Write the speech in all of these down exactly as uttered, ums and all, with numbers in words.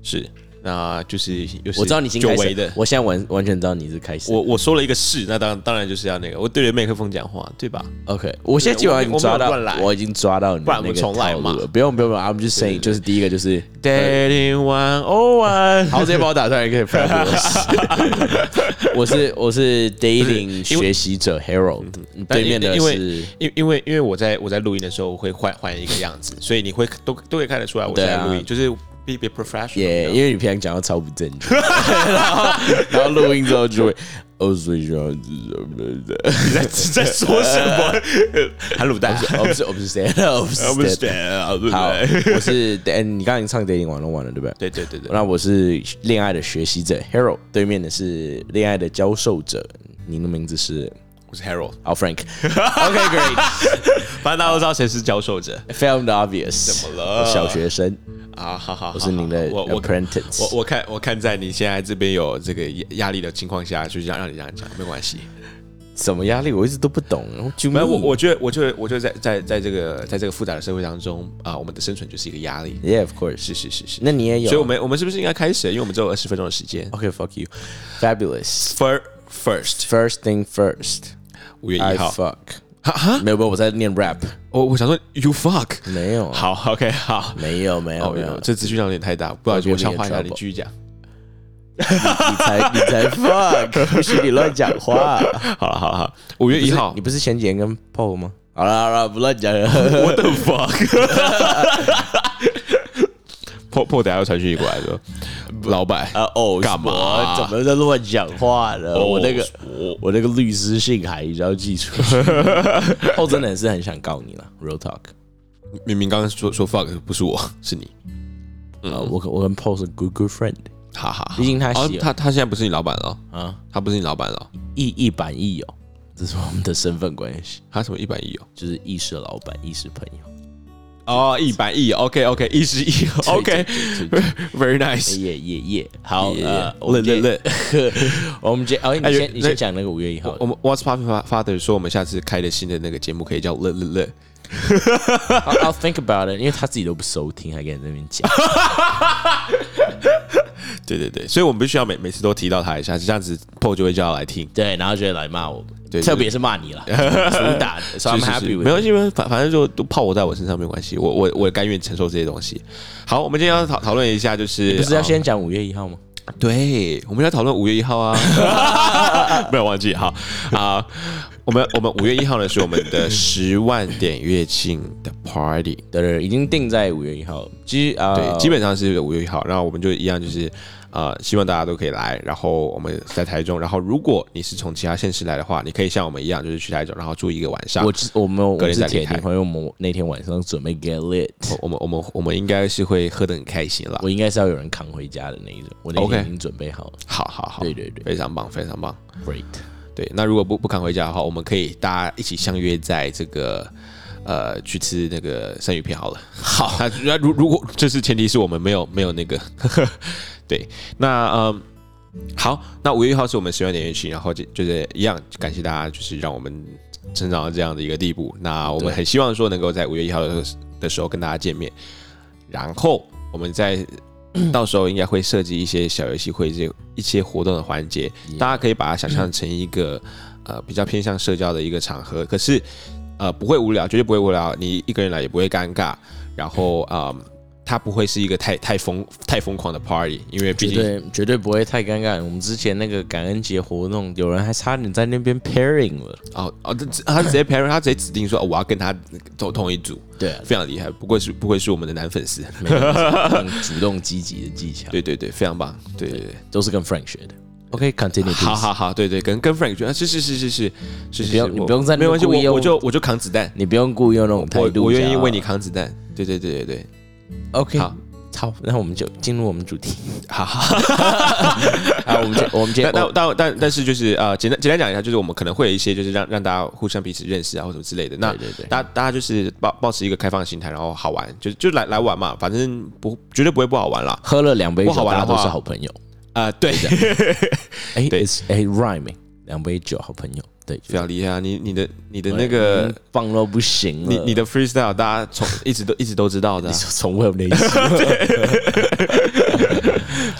是。那就是又是我知道你已经开始的， 我现在完完全知道你是开始。 我我说了一个是，那当当然就是要那个，我对着麦克风讲话，对吧 ？OK， 我现在基本上已经抓到，我, 我已经抓到你的那个套路了。不用不用不用 ，I'm just saying， 就是第一个就是 Dating one oh one， 好，直接把我打出来可以 fabulous。我是我是 dating 学习者 Harold， 对面的是因为因为因为我在我在录音的时候我会换换一个样子，所以你会都都可以看得出来我在录音，就是。Be be professional， yeah, 因为你平常讲到超不正确，然后然后录音之后就会，哦，所以这样子什么的， 你在在说什么？韩卤蛋， 我不是我不是 stand， 我不是 stand， 好，我是你刚刚已经唱 dating 完了完了对不对？ 对对对对。 那我是恋爱的学习者 Harold， 对面的是恋爱的教授者，您的名字是？ 我是 Harold， 好 Frank。OK great， 反正大家都知道谁是教授者 ，Found obvious， 怎么了？ 小学生。 啊，好好， 我是您的 apprentice。 我我看我看在你现在这边有这个压力的情况下，就让让你这样讲，没关系。 什么压力？我一直都不懂。 没有，我我觉得，我觉得，我觉得在在在这个在这个复杂的社会当中啊，我们的生存就是一个压力。 Yeah, of course， 是是是是。 那你也有， 所以我们我们是不是应该开始？因为我们只有二十分钟的时间。 OK, fuck you, fabulous. First, first thing first. 五月一号 I fuck。哈，没有没有，我在念 rap。 我我想说 you fuck， 没有。 好 ，OK， 好， 没有没有没有， 这资讯量有点太大，不好意思，我消化一下，你继续讲。 你才你才 fuck， 不许你乱讲话。 好了好了好，五月一号， 你不是前几天跟 Paul 吗？好了好了，不乱讲了。 What the fuck？Paul Paul 等下要传讯过来说，老板啊哦， 干嘛？ 怎么在乱讲话呢？我那个我那个律师信还要寄出去。Paul 真的是很想告你了 ，real talk。 明明刚刚说说 fuck 不是我，是你。 嗯，我我跟 Paul 是 good good friend。 哈哈， 毕竟他喜他他现在不是你老板了啊， 他不是你老板了， 一一板一友，这是我们的身份关系。 他什么一板一友？ 就是亦是老板，亦是朋友。 哦，一板一友 ，OK OK， 亦是一友 ，OK，Very nice， 耶耶耶，好， 呃，乐乐乐， 我们接，哦，你先你先讲那个五月一号， 我们 What's Poppin' Father 说我们下次开的新的那个节目可以叫乐乐乐。 I'll think about it， 因为他自己都不收听，还跟你在那边讲。 对对对，所以我们必须要每每次都提到他一下，这样子 Paul 就会叫他来听， 对，然后就会来骂我们， 对， 特别是骂你了，主打的 ，So I'm happy with， 没关系，反反正就都泡我在我身上没关系，我我我甘愿承受这些东西。好，我们今天要讨讨论一下，就是你不是要先讲五月一号吗？ 对，我们要讨论五月一号啊，没有忘记，好啊，我们我们五月一号呢是我们的十万点乐庆的 party， 对对，已经定在五月一号，基啊、 呃，对，基本上是五月一号，然后我们就一样就是。呃，希望大家都可以来，然后我们在台中，然后如果你是从其他县市来的话，你可以像我们一样，就是去台中，然后住一个晚上。 我我们我们是铁定会，因为我们那天晚上准备 get lit， 我们我们我们应该是会喝得很开心啦。 我应该是要有人扛回家的那一种，我那天已经准备好了。 Okay. 好好好， 对对对， 非常棒，非常棒 ，great。 对，那如果不不扛回家的话，我们可以大家一起相约在这个。呃，去吃那个生鱼片好了。 好， 那如如果就是前提是我们没有没有那个，对，那嗯，好，那五月一号是我们十万点乐庆，然后就就是一样，感谢大家，就是让我们成长到这样的一个地步。那我们很希望说能够在五月一号的的时候跟大家见面，然后我们在到时候应该会设计一些小游戏，会这一些活动的环节， yeah. 大家可以把它想象成一个呃比较偏向社交的一个场合，可是。呃，不会无聊，绝对不会无聊。你一个人来也不会尴尬，然后啊、嗯，它不会是一个太太疯太疯狂的 party， 因为毕竟绝对绝对不会太尴尬。我们之前那个感恩节活动，有人还差点在那边 pairing 了。 哦哦，他直接 pairing， 他直接指定说、哦、我要跟他走同一组， 对、啊， 非常厉害。不愧是不愧是我们的男粉丝， 主动积极的技巧。 对对对，非常棒。对对 对, 对， 都是跟 Frank 学的。OK，continue、okay,。 好好好，对对，跟跟 Frank 觉得是是是是是是， 你不用你不用在没关系，我我就我就扛子弹， 你不用故意用那种态度， 我愿意为你扛子弹。对对对对对 ，OK， 好，好，那我们就进入我们主题。好好，好，我们今我们今天但但但但是就是呃，简单简单讲一下，就是我们可能会有一些就是让让大家互相彼此认识啊，或什么之类的。那对对对， 大家大家就是抱抱持一个开放的心态，然后好玩，就就来来玩嘛，反正不绝对不会不好玩啦。 喝了两杯酒， 不好玩的话大家都是好朋友。 啊、呃，对的， 哎，对，哎 ，rhyming， 两杯酒，好朋友，对， 非常厉害啊！你你的你的那个棒到不行了， 你你的 freestyle 大家从一直都一直都知道的、啊， 你说从未有那一次，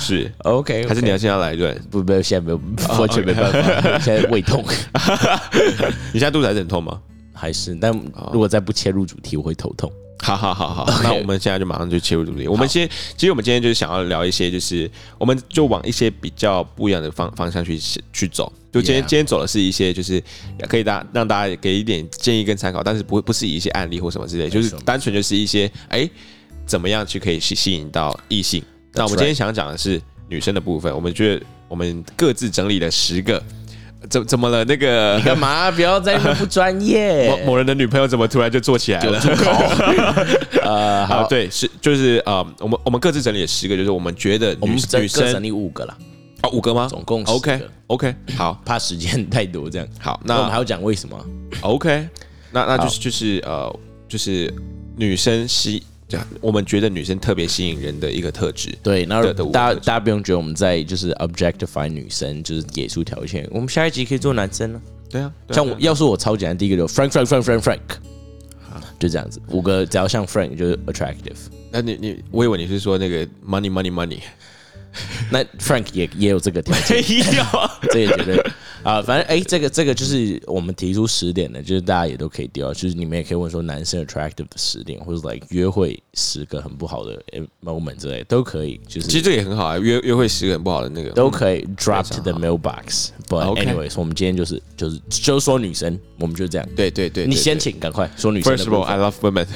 是 OK，, okay. 还是你要现在来一段？ 不不，现在没有，完全没办法，现在胃痛。 你现在肚子还是很痛吗？ 还是，但如果再不切入主题，我会头痛。 好好好好， okay. 那我们现在就马上就切入主题。我们先，其实我们今天就是想要聊一些，就是我们就往一些比较不一样的方方向去去走。就今天、yeah. 今天走的是一些，就是可以大让大家给一点建议跟参考，但是不不是以一些案例或什么之类，就是单纯就是一些哎、欸、怎么样去可以吸吸引到异性。那我们今天想讲的是女生的部分，我们觉得我们各自整理了十个。怎怎么了？那个你干嘛？不要在那不专业。 某某人的女朋友怎么突然就做起来了？呃，好，对，是就是呃，我们我们各自整理了十个，就是我们觉得女我们女生整理五个啦。 哦，五个吗？ 总共 OK OK 好， 怕时间太多这样。 好， 那我们还要讲为什么 ？OK， 那那就是就是呃，就是女生吸。我们觉得女生特别吸引人的一个特质， 对，然后大家大家不用觉得我们在就是 objectify 女生，就是给出条件。我们下一集可以做男生呢、 啊，对啊， 像我要是我超简单，第一个就 Frank Frank Frank Frank Frank， 就这样子，五个只要像 Frank 就是 attractive。 那你你我以为你是说那个 money money money， 那 Frank 也也有这个条件，这也绝对啊，反正哎、欸，这个这个就是我们提出十点的，就是大家也都可以丢，就是你们也可以问说男生 attractive 的十点，或者 like 约会十个很不好的 moment 之类都可以。就是其实这个也很好啊，约约会十个很不好的那个都可以 drop to the mailbox。But anyways， 我们今天就是就是就是说女生，我们就这样。 对对 对, 對， 你先请，赶快说女生的。 First of all, I love women.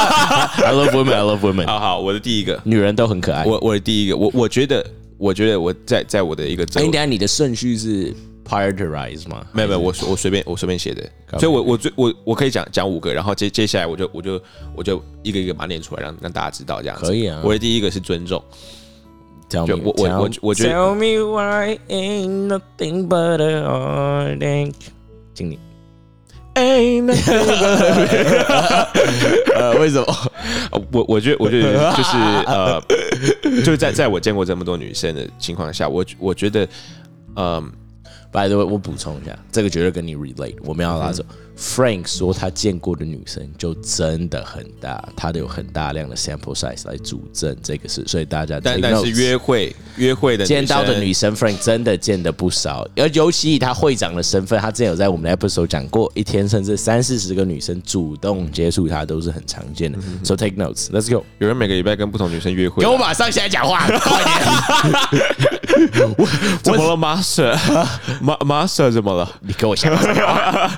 I love women. I love women. 好好，我的第一个， 女人都很可爱。 我我的第一个，我我觉得我觉得我在在我的一个， 哎，等下你的顺序是 prioritize 吗？ 没有没有，我我随便我随便写的，所以我我最我我可以讲讲五个，然后接接下来我就我就我就一个一个把它念出来，让让大家知道这样子。 可以啊。 我的第一个是尊重。 Tell me, 我我我我觉得 Tell me why ain't nothing but a heartache。经理。Ain't nothing but a 呃，为什么？ 我我觉得我觉得就是呃，就是在在我见过这么多女生的情况下，我我觉得，嗯。 By the way， 我补充一下，这个绝对跟你 relate。我们要拉走。嗯、Frank 说他见过的女生就真的很大，他的有很大量的 sample size 来主证这个事，所以大家但但是约会约会的女生见到的女生 ，Frank 真的见得不少，而尤其以他会长的身份，他之前有在我们的 episode 讲过，一天甚至三四十个女生主动接触他都是很常见的。嗯、so take notes, let's go。 有人每个礼拜跟不同女生约会， 给我马上起来讲话，快点！ 我怎么了 ，Master？ Master 怎么了？ 你给我下马话！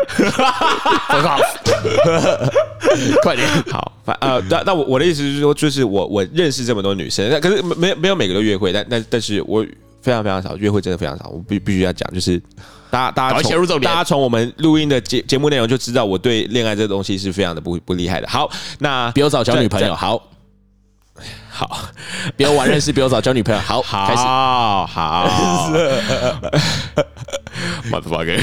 快点！ 好，呃，那那我我的意思是说，就是我我认识这么多女生，可是没没有每个都约会，但但但是我非常非常少约会，真的非常少。我必必须要讲，就是大家大家从大家从我们录音的节节目内容就知道，我对恋爱这个东西是非常的不不厉害的。好，那比我早交女朋友，好。 好， 比我晚认识，比我早交女朋友。好， 好， 开始。 好，motherfucker。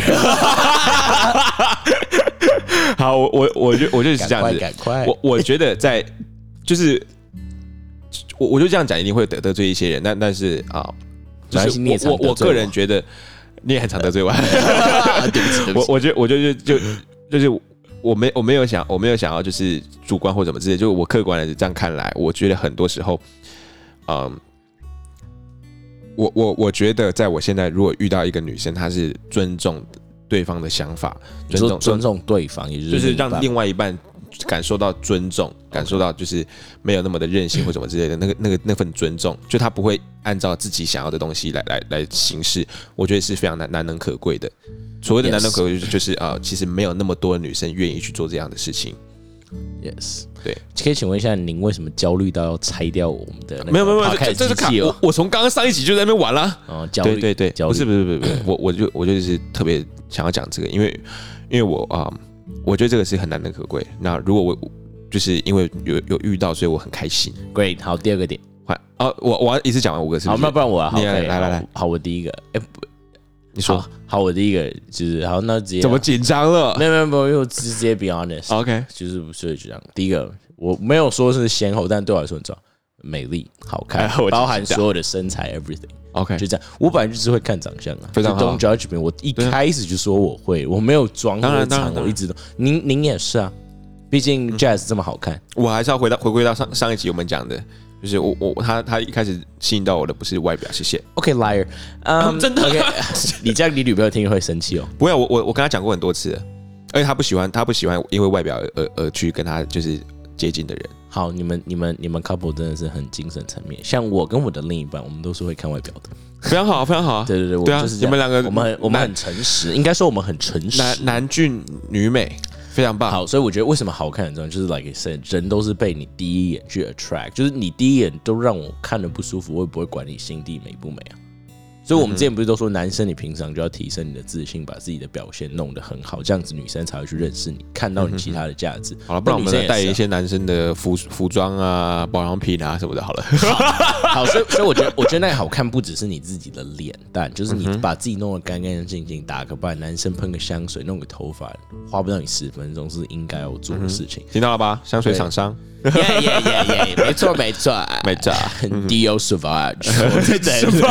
好，我我我就我就是这样子。 赶快， 我我觉得在就是我我就这样讲，一定会得得罪一些人，但但是啊，就是我我我个人觉得你也很常得罪我。 对不起，对不起。 我我觉得我就就就是。我没我没有想我没有想要就是主观或怎么之类，就我客观的这样看来，我觉得很多时候，嗯，我我我觉得在我现在如果遇到一个女生，她是尊重对方的想法， 尊重尊重对方，也就是就是让另外一半感受到尊重，感受到就是没有那么的任性或什么之类的，那个那个那份尊重，就他不会按照自己想要的东西来来来行事，我觉得是非常难难能可贵的。所谓的难能可贵就是就是啊、呃，其实没有那么多女生愿意去做这样的事情。 Yes， 对， 可以请问一下，您为什么焦虑到要拆掉我们的那个？ 没有没有没有，这是看我我从刚刚上一集就在那边玩啦。 哦，焦虑， 对对对，不是不是不是不是，我我就我就是特别想要讲这个，因为因为我啊、呃，我觉得这个是很难能可贵。那如果我就是因为有有遇到，所以我很开心。 Great， 好，第二个点， 哦，我我要一次讲完五个是不是？ 好，那不然我啊，好， 来来来来， 好，我第一个，哎不。 你说好, 好，我第一个就是好，那直接怎么紧张了？ 没有没有没有，因为我直接 be honest，OK，、 okay. 就是所以就这样。第一个我没有说是先后，但对我来说很重要，美丽、好看，哎、包含所有的身材 everything。OK， 就这样。我本来就是会看长相啊，非常好。Don't judge me， 我一开始就说我会，我没有装我藏，我一直都。您您也是啊，毕竟 Jazz 这么好看。 我还是要回到回归到上上一集我们讲的， 就是我我他他一开始吸引到我的不是外表，谢谢。 OK liar， 嗯， 真的 OK， 你这样你女朋友听会生气哦。 不会，我我我跟他讲过很多次了，而且他不喜欢他不喜欢因为外表而而而去跟他就是接近的人。 好，你们你们你们 couple 真的是很精神层面，像我跟我的另一半，我们都是会看外表的。 非常好，非常好。 对对对， 对啊， 就是你们两个我们很我们很诚实，应该说我们很诚实。 男男俊女美。非常棒。 好，所以我觉得为什么好看很重要，就是 like I said， 人都是被你第一眼去 attract， 就是你第一眼都让我看得不舒服，我也不会管你心地美不美啊。所以我们之前不是都说，男生你平常就要提升你的自信，把自己的表现弄得很好，这样子女生才会去认识你，看到你其他的价值。 好了，不然我们再带一些男生的服服装啊、保养品啊什么的。好了， 好，好，所以所以我觉得，我觉得那个好看不只是你自己的脸蛋，就是你把自己弄得干干净净，打个扮，男生喷个香水，弄个头发，花不到你十分钟是应该要做的事情。 听到了吧？香水厂商。 耶耶耶耶，没错没错没错 ，Dio Sauvage， 我在等你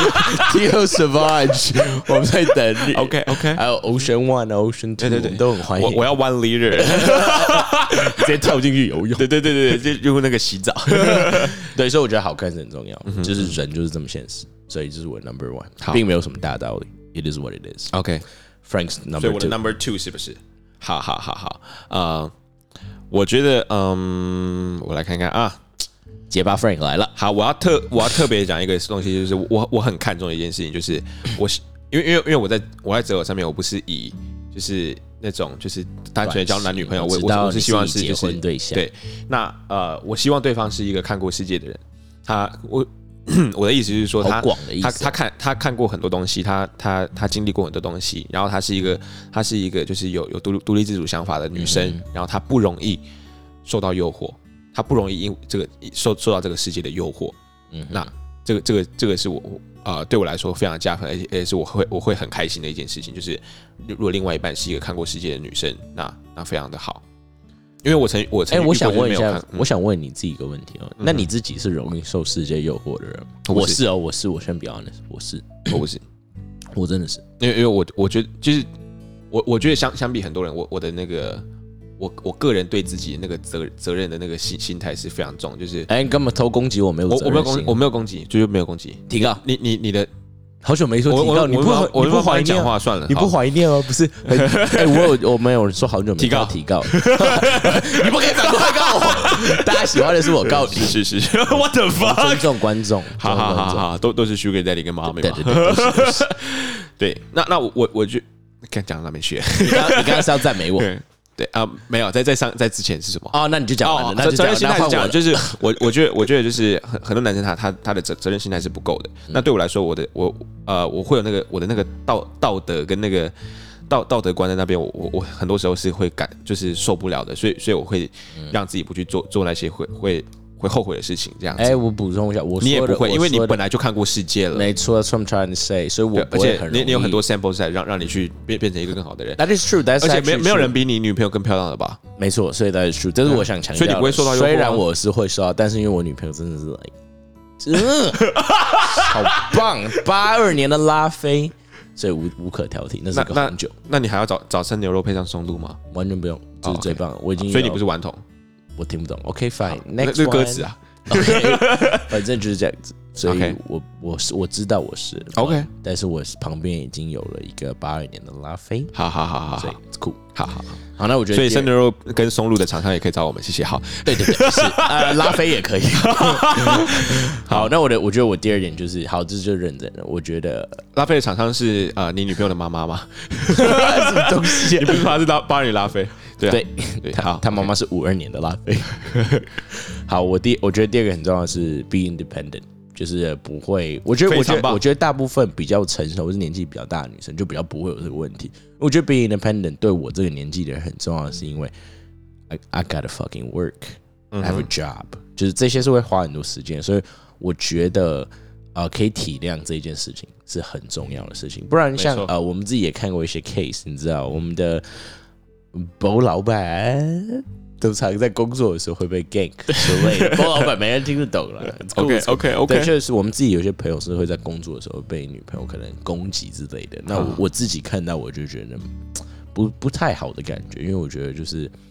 ，Dio Sauvage， 我们在等你。 OK OK， 还有 Ocean One、Ocean Two， 对对对，都很欢迎。 我我要 One Liter， 直接跳进去游泳。 对对对对对，就用那个洗澡。 对，所以我觉得好看是很重要，就是人就是这么现实，所以这是我 Number One， 并没有什么大道理。It is what it is。OK，Frank's Number Two， 所以我的 Number Two 是不是？好好好好，呃。我觉得，嗯，我来看看啊， 结巴 Frank 来了。 好，我要特我要特别讲一个东西，就是我我很看重的一件事情，就是我因为因为因为我在我在择偶上面，我不是以就是那种就是单纯的交男女朋友，我我我是希望是就是对象对，那呃，我希望对方是一个看过世界的人，他我。我的意思是说他，他他看他看过很多东西，他他他经历过很多东西，然后他是一个他是一个就是有有独独立自主想法的女生，嗯、然后她不容易受到诱惑，她不容易因这个受受到这个世界的诱惑。嗯，那这个这个这个是我呃对我来说非常加分，而且而且是我会我会很开心的一件事情，就是如果另外一半是一个看过世界的女生，那那非常的好。因为我曾我曾哎、欸，我想问一下，嗯、我想问你自己一个问题哦，嗯、那你自己是容易受世界诱惑的人吗？我是哦，我是，我先 be honest， 我是， 我不是， 我真的是， 因为因为我我觉得就是我我觉得相相比很多人，我我的那个我我个人对自己那个责责任的那个心心态是非常重，就是哎、欸，你根本偷攻击我没有责任心， 我我没有攻我没有攻击，就是没有攻击， 提高你你你的。 好久没说提高，你不我你不怀念讲话算了， 你不怀念吗？不是，哎，我有我没有说好久没提高提高，你不可以反过来告我，大家喜欢的是我告你， 是是是 ，What the fuck？ 尊重观众， 好好好好，都都是 Sugar Daddy 跟妈咪嘛， 对对对， 对，那那我我就看讲到哪边去？ 你刚你刚刚是要赞美我。 对啊、呃，没有，在在上在之前是什么？ 哦，那你就讲完了。那责任心态是讲，就是我我觉得我觉得就是很很多男生他他他的责责任心态是不够的。嗯、那对我来说，我的我呃我会有那个我的那个道道德跟那个道道德观在那边，我我我很多时候是会感就是受不了的，所以所以我会让自己不去做做那些会会。会后悔的事情，这样子。 哎、欸，我补充一下，我你也不会，因为你本来就看过世界了。 没错 ，That's what I'm trying to say。所以我不会很容易， 而且你你有很多 sample 在让让你去变变成一个更好的人。 That is true。而且没没有人比你女朋友更漂亮了吧？ 没错，所以 that is true。这是我想强调的。 所以你不会受到诱惑。 虽然我是会受到，但是因为我女朋友真的是 like， 嗯，好棒，八二年的拉菲，所以无无可挑剔，那是个红酒。 那你还要早早餐牛肉配上松露吗？ 完全不用，这是最棒的。我已经， 所以你不是顽童， 我听不懂。OK fine，next 这个歌词啊。 OK， 反正就是这样子，所以我我是我知道我是 OK， 但是我旁边已经有了一个八二年的拉菲， 好好好好， 所以酷， 好好好，那我觉得， 所以生牛肉跟松露的厂商也可以找我们，谢谢。好， 对对对，是呃拉菲也可以。好，那我的我觉得我第二点就是，好，这就认真了。我觉得拉菲的厂商是呃你女朋友的妈妈吗？ 什么东西？ 你不是说他是八二年拉菲？对对对，他他妈妈是五二年的拉菲。好，我第我觉得第二个很重要的是 be independent， 就是不会，我觉得我觉得我觉得大部分比较成熟或是年纪比较大的女生就比较不会有这个问题。我觉得 be independent 对我这个年纪的人很重要的是因为 I I gotta fucking work, I have a job， 就是这些是会花很多时间，所以我觉得呃可以体谅这件事情是很重要的事情。不然像呃我们自己也看过一些 case， 你知道我们的。包老板都常在工作的时候会被 gank 之类的，包老板没人听得懂了。 OK OK OK， 对，确实是我们自己有些朋友是会在工作的时候被女朋友可能攻击之类的。那 我, 我自己看到我就觉得不不太好的感觉，因为我觉得就是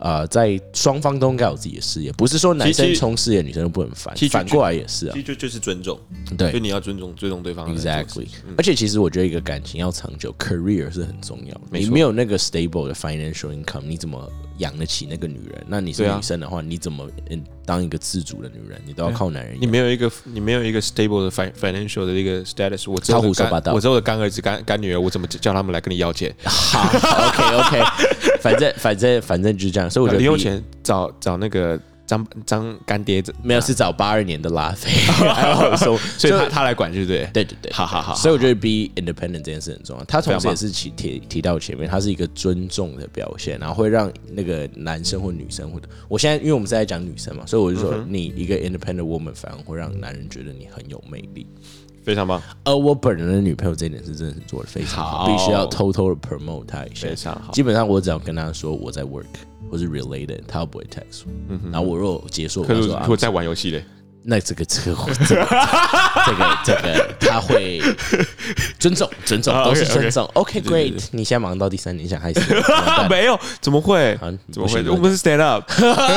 呃，在双方都应该有自己的事业，不是说男生冲事业，女生就不能烦，反过来也是啊。 其实就就是尊重， 对， 就你要尊重尊重对方。 Exactly，、嗯、而且其实我觉得一个感情要长久 ，career 是很重要的。你没有那个 stable 的 financial income， 你怎么养得起那个女人？那你是女生的话，啊、你怎么当一个自主的女人？你都要靠男人。 你没有一个你没有一个 stable 的 financial 的一个 status， 我只有胡说八道， 我只有干儿子干干女儿，我怎么叫他们来跟你要钱？ 好 ，OK OK， 反正反正反正就是这样。所以我觉得零用钱找找那个张张干爹， 没有是找八二年的拉菲，然后说， 所以他他来管，对不对？ 对对对， 好好好。 所以我觉得 be independent 这件事很重要。他同时也是提提到前面，他是一个尊重的表现，然后会让那个男生或女生或者，我现在因为我们是在讲女生嘛，所以我就说你一个 independent woman 反而会让男人觉得你很有魅力。 非常棒， 而我本人的女朋友这一点是真的是做的非常好，必须要偷偷的 promote 她一下。 非常好， 基本上我只要跟她说我在 work 或是 related， 她不会 text 我。嗯、然后我如果结束， 可是我如果在玩游戏嘞， 那这个这个这个这个这个他会尊重尊重都是尊重。OK great， 你现在忙到第三年想害死我？ 没有，怎么会？怎么会？我们是 stand up。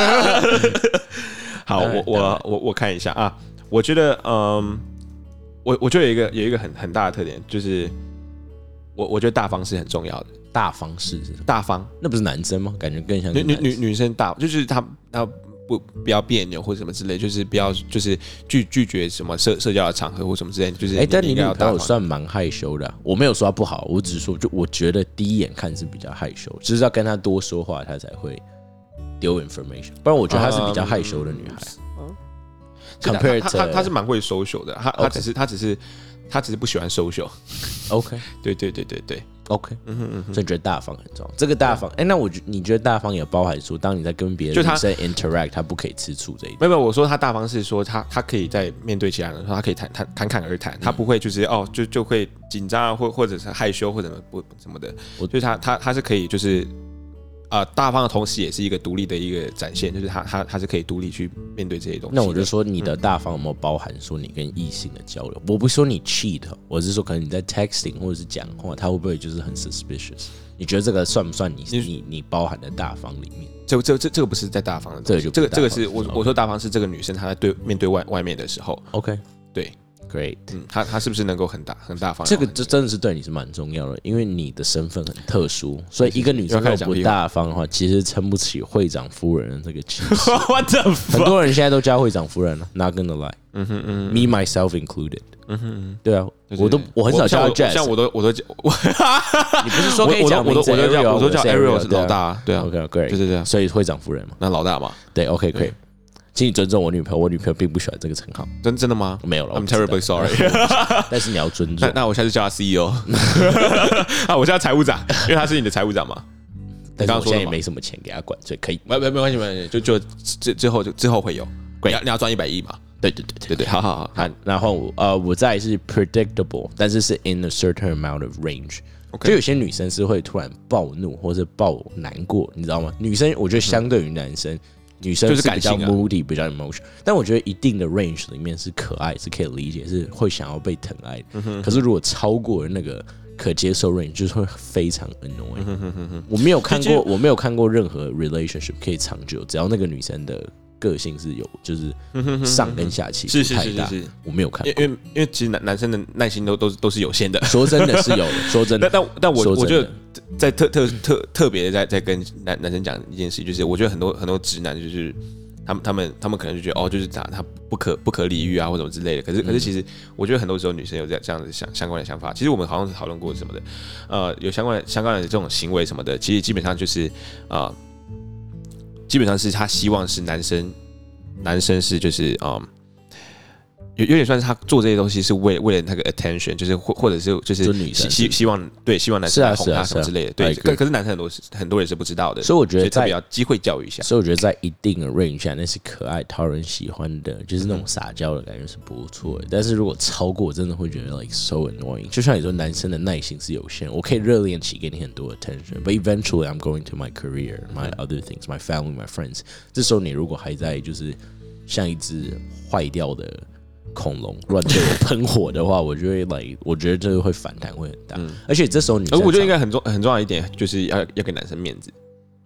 好，我我我我看一下啊，我觉得嗯。我我觉得有一个有一个很很大的特点，就是我我觉得大方是很重要的。 大方是大方， 那不是男生吗？感觉更像女女女女生大，就是她她不不要别扭或者什么之类，就是不要就是拒拒绝什么社社交的场合或什么之类，就是哎、欸， 但你女朋友算蛮害羞的、啊，我没有说她不好，我只是说就我觉得第一眼看是比较害羞，就是要跟她多说话，她才会丢 information， 不然我觉得她是比较害羞的女孩。嗯 Compared to 他他是蛮会 social 的，他他只是他只是他只是不喜欢 social。OK， 对对对对对 ，OK， 嗯哼嗯哼，所以觉得大方很重要。这个大方，哎、欸，那我你觉得大方也包含说，当你在跟别的女生 interact， 他不可以吃醋这一点。 没有没有，我说他大方是说他他可以在面对其他人的时候，他可以谈谈侃侃而谈，他不会就是哦就就会紧张啊，或或者是害羞或者不什么的，就是他他他是可以就是。呃，大方的同时也是一个独立的一个展现，就是他他他是可以独立去面对这些东西。 那我就说你的大方有没有包含说你跟异性的交流？我不是说你 cheat， 我是说可能你在 texting 或者是讲话，他会不会就是很 suspicious？ 你觉得这个算不算你你你包含的大方里面？ 这这这这个不是在大方的，这个就这个这个是我我说大方是这个女生她在对面对外外面的时候 ，OK， 对。 Great， 嗯，他他是不是能够很大很大方？ 这个这真的是对你是蛮重要的，因为你的身份很特殊，所以一个女生如果不大方的话，其实撑不起会长夫人的这个气势。很多人现在都叫会长夫人了 ，Not gonna lie， 嗯哼嗯 ，Me myself included， 嗯哼，对啊，我都我很少叫 Jazz， 像我都我都叫， 你不是说可以讲我都我都叫我都叫 Ariel 是老大，对啊 ，OK Great， 就是这样， 所以会长夫人嘛， 那老大嘛， 对 OK Great。请你尊重我女朋友，我女朋友并不喜欢这个称号。 真真的吗？ 没有了 ，I'm terribly sorry 。 但是你要尊重。 那, 那我下次叫他 C E O 啊，我叫他财务长，因为他是你的财务长嘛。 但是我现在也没什么钱给他管，所以可以。 没没没关系，没关系，就就之之后就之后会有。你要你要赚一百亿嘛？ 对对对对对，好好好。 好，然后我呃，我再来是 predictable， 但是是 in a certain amount of range。就有些女生是会突然暴怒或者暴难过，你知道吗？女生我觉得相对于男生。女生是比较 moody， 比较 emotion， 但我觉得一定的 range 里面是可爱，是可以理解，是会想要被疼爱的。嗯、可是如果超过那个可接受 range， 就是会非常 annoying。嗯、我没有看过，我没有看过任何 relationship 可以长久，只要那个女生的个性是有，就是上跟下起伏太大，是是是是是我没有看过。 因为因为其实男男生的耐心都都是都是有限的。 说真的是有的，说真的。 但但但我我觉得。在特特特特别的在在跟男男生讲一件事，就是我觉得很多很多直男就是他们他们他们可能就觉得哦，就是他他不可不可理喻啊或者什么之类的。可是可是其实我觉得很多时候女生有这样子相相关的想法。其实我们好像是讨论过什么的，呃，有相关的相关的这种行为什么的，其实基本上就是呃，基本上是他希望是男生男生是就是啊。呃有有点算是他做这些东西是为为了那个 attention， 就是或或者是就是希希望对希望男生来哄他什么之类的，对。可可是男生很多很多人是不知道的， 所以我觉得特别要机会教育一下。 所以我觉得在一定的 range 下，那是可爱讨人喜欢的，就是那种撒娇的感觉是不错的。但是如果超过，我真的会觉得 like so annoying。就像你说，男生的耐心是有限，我可以热恋期给你很多 attention，but eventually I'm going to my career, my other things, my family, my friends。这时候你如果还在就是像一只坏掉的。恐龙乱对我喷火的话，我就会来，我觉得这个会反弹会很大，嗯、而且这时候女生， 我觉得应该很重很重要一点，就是要要给男生面子。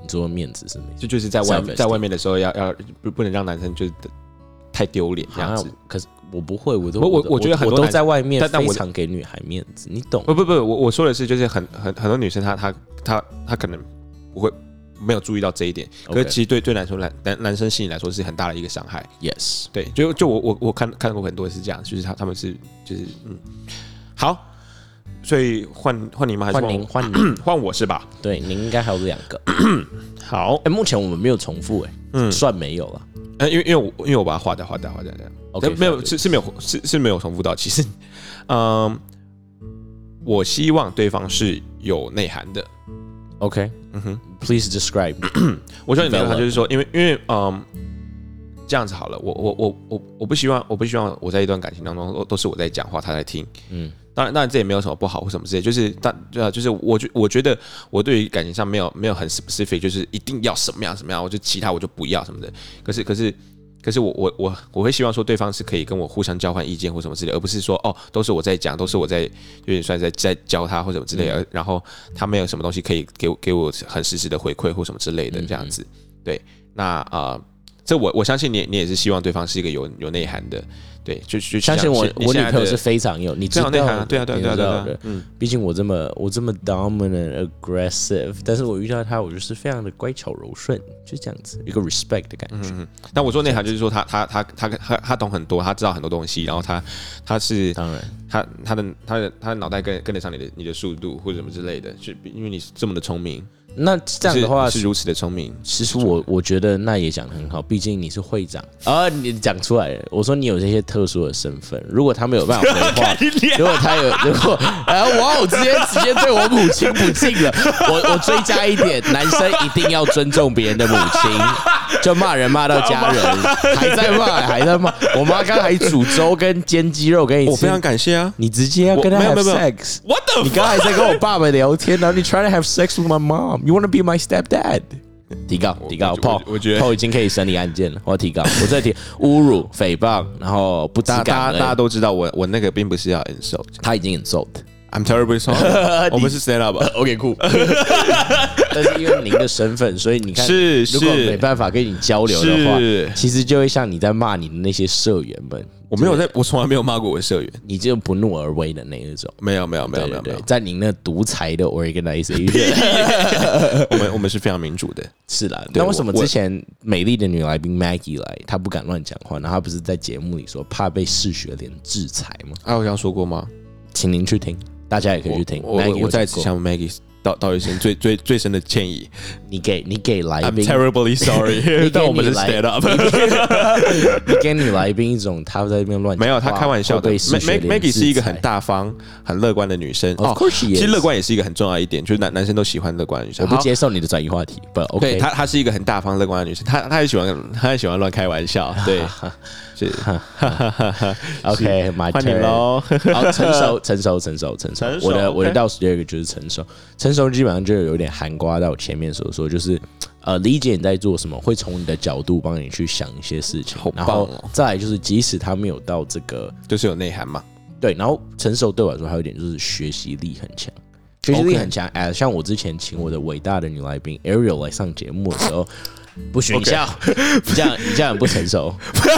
说面子是没就就是在外在外面的时候要要不不能让男生就是太丢脸这样子。 可是我不会，我都我我我觉得很多我都在外面非常给女孩面子，你懂？ 不不不，我我说的是就是很很很多女生她她她她可能不会没有注意到这一点， okay. 可是其实对对男生男男男生心里来说是很大的一个伤害。 Yes， 对，就就我我我看看过很多是这样，就是他他们是就是嗯好。所以换换你吗？还是换您？换您？ 换我是吧？ 对，您应该还有两个。 好， 哎、欸，目前我们没有重复、欸，哎，嗯，算没有了。 呃，因为因为我因为我把它划掉划掉划掉这样 ，OK， 没有是是没有是是没有重复到。其实，嗯，我希望对方是有内涵的。 OK， 嗯哼 ，Please describe 。 我说你内涵就是说，因为因为嗯。这样子好了，我我我我我不希望，我不希望我在一段感情当中都是我在讲话，他在听。嗯，当然当然这也没有什么不好或什么之类，就是但对啊，就是我觉我觉得我对于感情上没有没有很 specific， 就是一定要什么样什么样，我就其他我就不要什么的。可是可是可是我我我我会希望说对方是可以跟我互相交换意见或什么之类，而不是说哦都是我在讲，都是我在有点算在在教他或什么之类的，嗯、然后他没有什么东西可以给我给我很实时的回馈或什么之类的这样子。对，那啊。呃这我我相信你，你也是希望对方是一个有有内涵的，对，就就相信我，我女朋友是非常有，你知道内涵，对啊，对啊，对啊，对啊， 嗯，毕竟我这么我这么 dominant aggressive， 但是我遇到他，我就是非常的乖巧柔顺，就这样子，一个 respect 的感觉。嗯， 但我说内涵就是说他他他他他他懂很多，他知道很多东西，然后他他是当然， 他他的他的他的脑袋跟跟得上你的你的速度或者什么之类的，就因为你是这么的聪明。 那这样的话是, 是如此的聪明， 其实我我觉得那也讲得很好，毕竟你是会长啊，你讲出来了。我说你有这些特殊的身份，如果他没有办法回话，如果他有，如果哎哇，我直接直接对我母亲不敬了。我我追加一点，男生一定要尊重别人的母亲，就骂人骂到家人，还在骂，还在骂。我妈刚还煮粥跟煎鸡肉给你吃， 我非常感谢啊。 你直接要跟他 have sex，What the？ 你刚才在跟我爸爸聊天，然后你 try to have sex with my mom。You wanna be my stepdad？ 提高，提高，炮， 我觉得炮已经可以审理案件了。我要提高，我再提侮辱、诽谤，然后不知感恩。 大家大家都知道我，我那个并不是要 insult， 他已经 insult。I'm terribly sorry 。我们是 stand up。OK， 酷。但是因为您的身份，所以你看， 是如果没办法跟你交流的话，其实就会像你在骂你的那些社员们。 我没有在，我从来没有骂过我的社员， 你就不怒而威的那一种。 没有，没有，没有，没有，没有， 在您那独裁的 organization， 我们我们是非常民主的。 是啦，那为什么之前美丽的女来宾 Maggie 来，她不敢乱讲话？然后她不是在节目里说怕被视学联制裁吗？ 啊，我这样说过吗？ 请您去听，大家也可以去听。 我 我, 我再次向 Maggie 道道一声最最最深的歉意。 你给你给来宾 ，I'm terribly sorry 。但我们是 stand up。 你给你来宾一种他在那边乱讲， 没有，他开玩笑的。Maggie 是一个很大方、很乐观的女生。 哦，其实乐观也是一个很重要一点，就是男男生都喜欢乐观的女生。 我不接受你的转移话题，不 OK。 对，她她是一个很大方、乐观的女生，她她也喜欢，她也喜欢乱开玩笑。对，是。 OK， 换你喽。 好，成熟，成熟，成熟，成熟。我的我的倒数第二个就是成熟。成熟基本上就有点涵盖到前面所说，就是呃理解你在做什么，会从你的角度帮你去想一些事情， 好棒哦。 然后再来就是即使他没有到这个， 就是有内涵嘛。 对，然后成熟对我来说还有一点就是学习力很强，学习力很强。哎、okay. ，像我之前请我的伟大的女来宾 Ariel 来上节目的时候，不许你笑， okay. 你这样你这样很不成熟。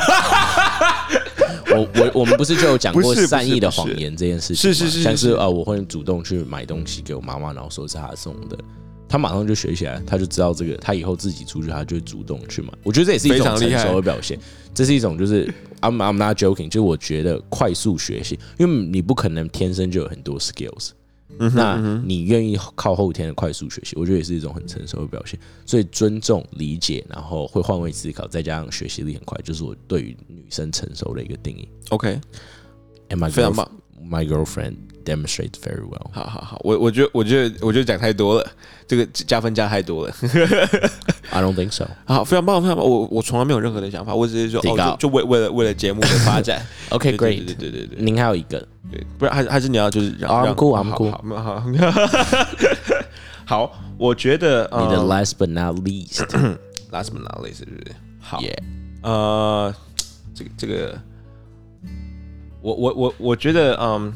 我我我们不是就有讲过善意的谎言这件事情吗？ 是是是， 像是啊、呃，我会主动去买东西给我妈妈，然后说是她送的，她马上就学起来，她就知道这个，她以后自己出去，她就会主动去买。我觉得这也是一种成熟的表现，这是一种就是 I'm I'm not joking， 就是我觉得快速学习，因为你不可能天生就有很多 skills。嗯、那你愿意靠后天的快速学习，我觉得也是一种很成熟的表现。所以尊重、理解，然后会换位思考，再加上学习力很快，就是我对于女生成熟的一个定义。 OK，and my 非常棒。 My girlfriend demonstrates very well。 好好好，我我觉得我觉得我觉得讲太多了，这个加分加太多了。 I don't think so。 好，非常棒，非常棒。我我从来没有任何的想法，我只是说哦，就就为为了为了节目的发展。 OK， great。 对对对对， 您还有一个。 对，不然还还是你要就是让 I'm cool， I'm cool。 好，好，好，我觉得你的 last but not least，last but not least 是不是？好， yeah. 呃，这个这个，我我我我觉得，嗯，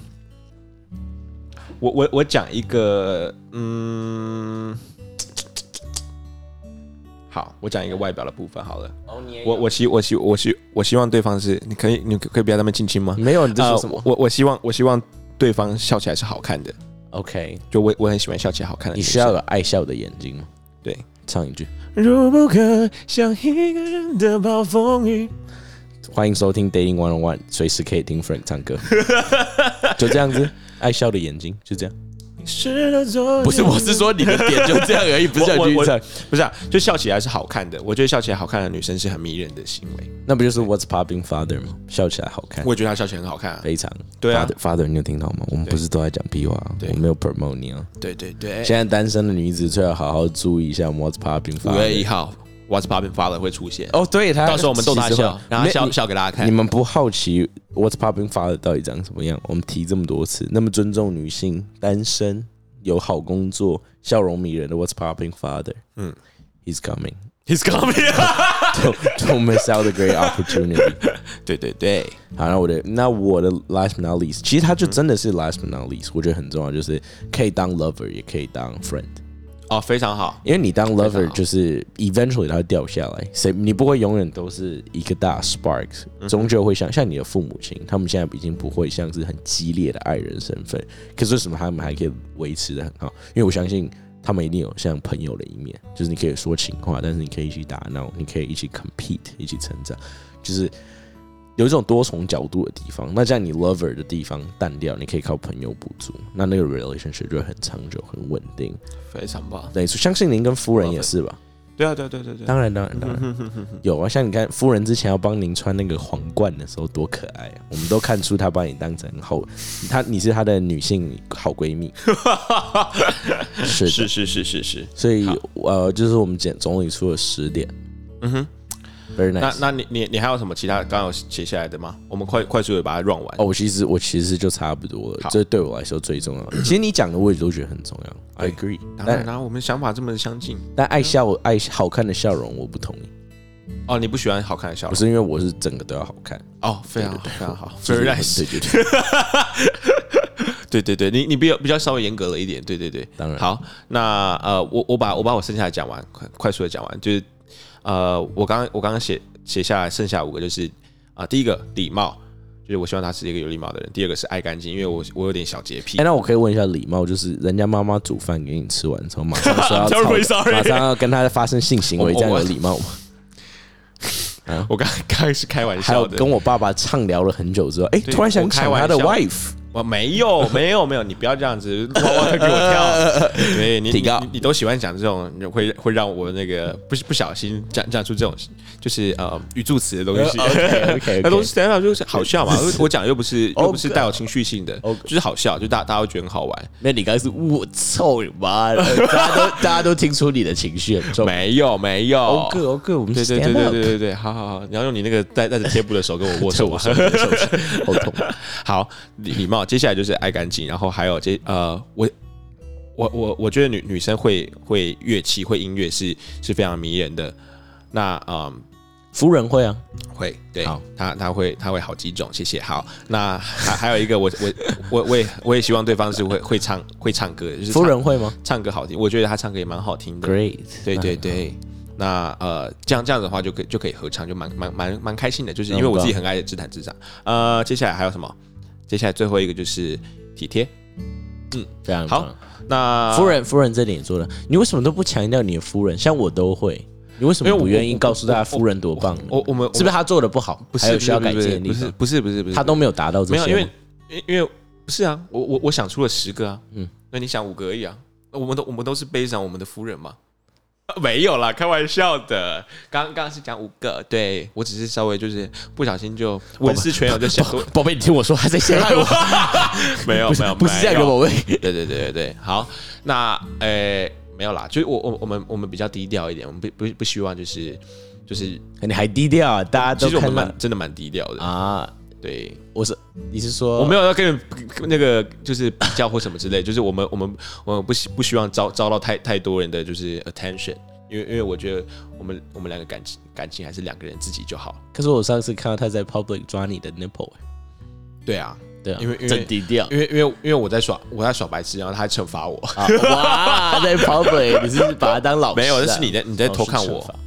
我我我讲一个，嗯， 好，我讲一个外表的部分好了。 哦，你我我希我希我希我希望对方是，你可以你可以不要在那边亲亲吗？ 没有，你在说什么？ 呃、我我希望我希望对方笑起来是好看的。 OK， 就我我很喜欢笑起来好看的女生。 你需要有爱笑的眼睛吗？ 对， 唱一句。 如不可像一个人的暴风雨。 欢迎收听 Dating One on One， 随时可以听 Frank 唱歌，就这样子，爱笑的眼睛，就这样。不是，我是说你的点就这样而已，不是叫你去唱， 不是啊，就笑起来是好看的。我觉得笑起来好看的女生是很迷人的行为。 那不就是 What's Popping Father 吗？笑起来好看， 我也觉得他笑起来很好看啊， 非常。 对啊 ，Father，, Father 你有听到吗？我们不是都在讲屁话，我没有 promote 你啊。 对对对， 现在单身的女子最好好好注意一下 What's Popping Father。 五月一号 ，What's Popping Father 会出现。 哦，对，他到时候我们逗他笑，然后笑笑给大家看。 你们不好奇 What's Popping Father 到底长什么样？我们提这么多次，那么尊重女性，单身。有好工作、笑容迷人的 What's Popping Father， 嗯 ，He's coming, He's coming don't, don't miss out the great opportunity 。 对对对， 好，那我的那我的 last but not least， 其实他就真的是 last but not least，、嗯、我觉得很重要，就是可以当 lover， 也可以当 friend。 哦，非常好， 因为你当 lover 就是 eventually 它会掉下来，谁你不会永远都是一个大 sparks， 终究会像像你的父母亲，他们现在已经不会像是很激烈的爱人身份，可是为什么他们还可以维持得很好？因为我相信他们一定有像朋友的一面，就是你可以说情话，但是你可以一起打闹，你可以一起 compete， 一起成长，就是有一种多重角度的地方。那这样你 lover 的地方淡掉，你可以靠朋友补足，那那个 relationship 就会很长久、很稳定， 非常棒。 对，相信您跟夫人也是吧？ 对啊，对对对对， 当然当然当然有啊。像你看，夫人之前要帮您穿那个皇冠的时候，多可爱啊！我们都看出她把你当成好，她你是她的女性好闺蜜，是是是是是是。 所以呃，就是我们简总理出了十点，嗯哼。Very nice. 那那你你你还有什么其他刚刚有写下来的吗？我们快快速的把它 run 完。 哦，我其实我其实就差不多了，这对我来说最重要的。其实你讲的我也都觉得很重要 ，I agree。 当然啦，我们想法这么相近。 但爱笑爱好看的笑容我不同意。 哦，你不喜欢好看的笑容？ 不是因为我是整个都要好看。 哦，非常好，非常好 ，Very nice。对对对， 对对对，你你比较比较稍微严格了一点，对对对。 当然。 好，那呃，我我把我把我剩下的讲完，快快速的讲完，就是。呃，我刚刚我刚刚写写下来，剩下五个就是啊、呃，第一个礼貌，就是我希望他是一个有礼貌的人；第二个是爱干净，因为我我有点小洁癖。 哎、欸，那我可以问一下礼貌，就是人家妈妈煮饭给你吃完之后，马上说要吵，马上要跟他发生性行为，这样有礼貌吗？ 啊、我刚刚是开玩笑的， 还有跟我爸爸畅聊了很久之后，哎、欸，突然想抢他的 wife。 我没有，没有，没有，你不要这样子，哇哇给我跳。对你，你你你都喜欢讲这种会会让我那个不不小心讲讲出这种就是呃语助词的东西。 OK， 那东西 stand up 就是好笑嘛，我讲又不是又不是带有情绪性的，就是好笑，就大大家会觉得很好玩。 那你刚才是我操你妈的，大家都大家都听出你的情绪很重。 没有没有 ，OK OK， 我们对对对对对对对，好好好，你要用你那个带带着贴布的手跟我握手， 我手好痛。 好，礼貌。接下来就是爱干净，然后还有这呃，我我我我觉得女女生会会乐器会音乐是是非常迷人的。那嗯， 夫人会啊， 会，对，她她会她会好几种，谢谢。好，那还还有一个我我我我也我也希望对方是会会唱会唱歌的，就是夫人会吗？ 唱歌好听，我觉得她唱歌也蛮好听的。 Great， 对对对。那呃，这样这样子的话就可以就可以合唱，就蛮蛮蛮蛮开心的，就是因为我自己很爱自弹自唱。呃，接下来还有什么？接下来最后一个就是体贴， 嗯，非常好。那夫人，夫人这点也做了，你为什么都不强调你的夫人？像我都会，你为什么不愿意告诉大家夫人多棒呢？ 我我们是不是他做的不好？ 不是， 还有需要改进的地方？ 不是不是不是， 他都没有达到这些。 没有，因为因为不是啊，我我我想出了十个啊，嗯，那你想五个而已啊，我们都我们都是悲伤我们的夫人嘛。没有啦，开玩笑的。刚刚是讲五个，对我只是稍微就是不小心就文思泉涌就想说， 宝贝，你听我说，他在陷害我。 没有没有， 不是这样的，宝贝。 对对对对对，好，那呃没有啦，就是我我我们我们比较低调一点，我们不不不希望就是就是你还低调啊，大家都其实我们蛮真的蛮低调的啊。对， 我是你是说我没有要跟那个就是比较或什么之类，就是我们我们我们不希不希望招招到太太多人的就是 attention， 因为因为我觉得我们我们两个感情感情还是两个人自己就好。 可是我上次看到他在 public 抓你的 nipple， 对啊。 对啊， 因为真低调， 因为因为因为我在耍我在耍白痴，然后他还惩罚我。 啊、哇，在 public 你是把他当老师、啊？ 没有，那是你在你在偷看我。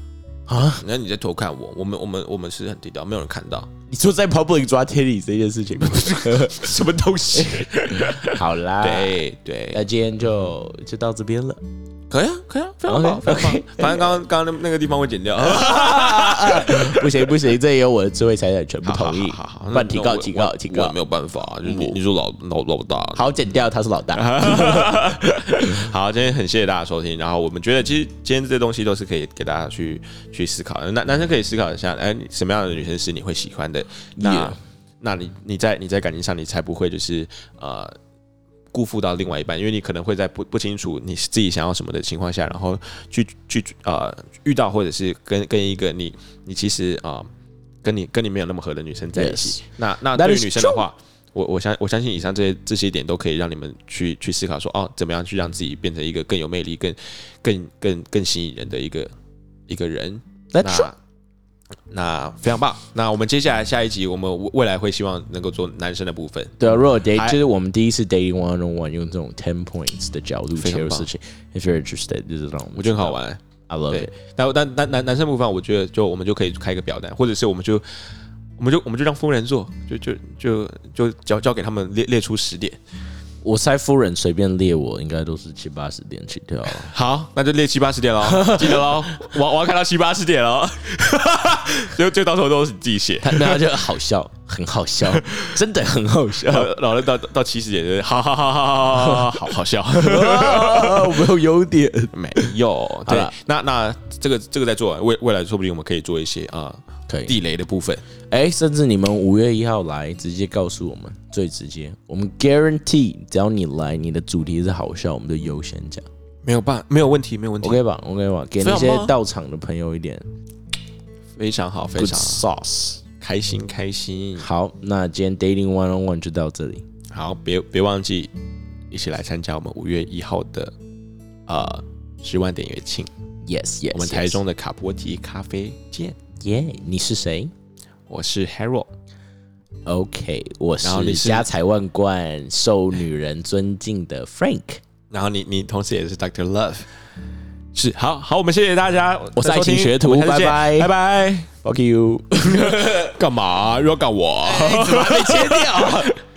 啊，那你在偷看我，我们我们我们是很低调，没有人看到。 你说在 public 抓 titty 这件事情， 什么东西？ 好啦， 对对， 那今天就就到这边了。 可以啊，可以啊，非常好，非常好。反正刚刚刚刚那个地方会剪掉。 不行不行，这也有我的智慧财产权，不同意。 好好好， 不然提告提告提告， 没有办法，就是你你说老老老大， 好剪掉，他是老大。 好，今天很谢谢大家收听。然后我们觉得，其实今天这些东西都是可以给大家去去思考的。男男生可以思考一下，哎，什么样的女生是你会喜欢的？那那你你在你在感情上，你才不会就是呃。辜负到另外一半，因为你可能会在不不清楚你自己想要什么的情况下，然后去去呃遇到或者是跟跟一个你你其实啊、呃、跟你跟你没有那么合的女生在一起， yes. 那那对于女生的话，我我相我相信以上这些这些点都可以让你们去去思考说哦，怎么样去让自己变成一个更有魅力、更更更更吸引人的一个一个人。那那非常棒。那我们接下来下一集，我们未来会希望能够做男生的部分。 对啊，如果 date 就是我们第一次 dating one on one 用这种 ten points 的角度切入事情 ，if you're interested 就是这种， 我觉得很好玩。 I love it。 但但男男男生部分，我觉得就我们就可以开一个表单，或者是我们就我们就我们就让夫人做，就就就就交交给他们列列出十点。 我猜夫人随便列我应该都是七八十点起跳。 好，那就列七八十点喽，记得喽，我我要看到七八十点喽，就就到时候都是你自己写， 他那就好笑，很好笑，真的很好笑。 然后到到七十点就是好好好好好好好笑， 我没有优点， 没有。对，那那这个这个在做完，未未来说不定我们可以做一些啊。 可以地雷的部分， 哎、欸，甚至你们五月一号来，直接告诉我们，最直接，我们 guarantee， 只要你来，你的主题是好笑，我们就优先讲， 没有办，没有问题，没有问题 ，OK 吧 ，OK 吧，给那些到场的朋友一点， 非常好，非常好 sauce， 开心开心。 好，那今天 dating one on one 就到这里， 好，别别忘记一起来参加我们五月一号的呃十万点乐庆 ，yes yes， 我们台中的卡波提咖啡见。 耶、yeah, ，你是谁？ 我是 Harold。OK， 我是家财万贯、受女人尊敬的 Frank。 然后你你同时也是 Doctor Love。是，好好，我们谢谢大家。 我是爱情学徒，拜拜拜拜 ，Fuck you。 干嘛？又要干我？ 欸、怎么还没切掉？